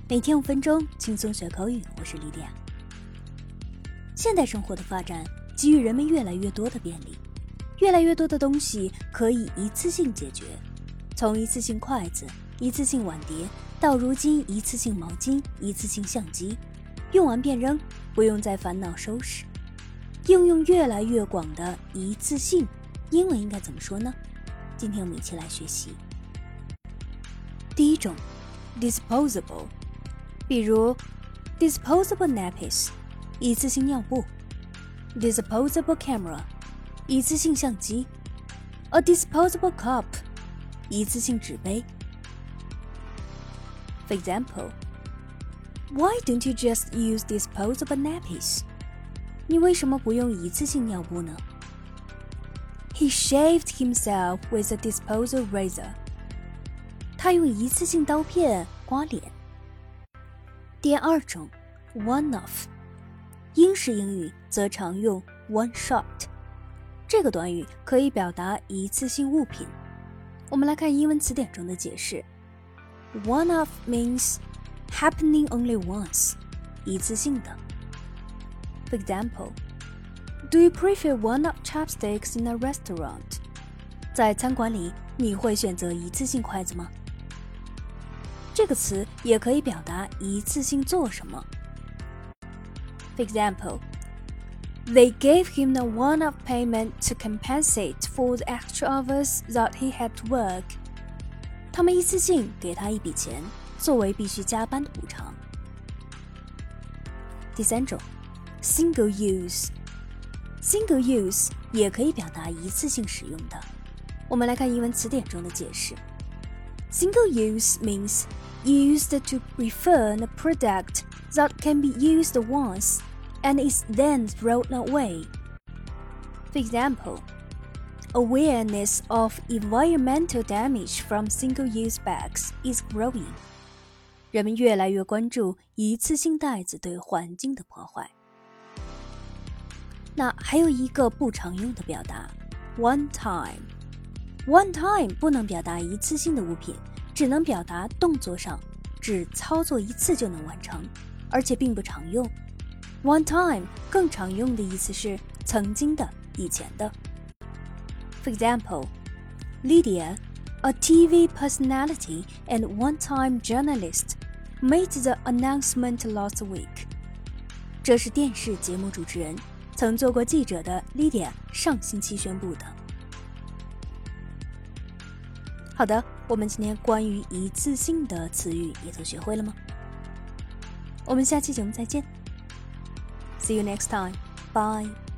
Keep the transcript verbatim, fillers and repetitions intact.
每天五分钟，轻松学口语。我是莉迪亚。现代生活的发展给予人们越来越多的便利，越来越多的东西可以一次性解决，从一次性筷子、一次性碗碟，到如今一次性毛巾、一次性相机，用完便扔，不用再烦恼收拾。应用越来越广的一次性，英文应该怎么说呢？今天我们一起来学习。第一种 disposable， 比如 disposable nappies， 一次性尿布， disposable camera， 一次性相机， a disposable cup， 一次性纸杯。 For example, why don't you just use disposable nappies? 你为什么不用一次性尿布呢？ He shaved himself with a disposable razor. 他用一次性刀片刮脸。第二种 one-off， 英式英语则常用 one shot， 这个短语可以表达一次性物品。我们来看英文词典中的解释。 One-off means happening only once， 一次性的。 For example, do you prefer one-off chopsticks in a restaurant? 在餐馆里，你会选择一次性筷子吗？这个词也可以表达一次性做什么。 For example, they gave him a one-off payment to compensate for the extra hours that he had to work. 他们一次性给他一笔钱，作为必须加班的补偿。第三种 single use， single use 也可以表达一次性使用的。我们来看英文词典中的解释。 Single use means used to refer a product that can be used once and is then thrown away. For example, awareness of environmental damage from single-use bags is growing. 人们越来越关注一次性袋子对环境的破坏。那还有一个不常用的表达 one time。One time 不能表达一次性的物品，只能表达动作上只操作一次就能完成，而且并不常用。One time 更常用的意思是曾经的、以前的。For example, Lydia, a T V personality and one-time journalist, made the announcement last week. 这是电视节目主持人，曾做过记者的 Lydia 上星期宣布的。好的，我们今天关于一次性的词语也都学会了吗？我们下期节目再见。See you next time. Bye.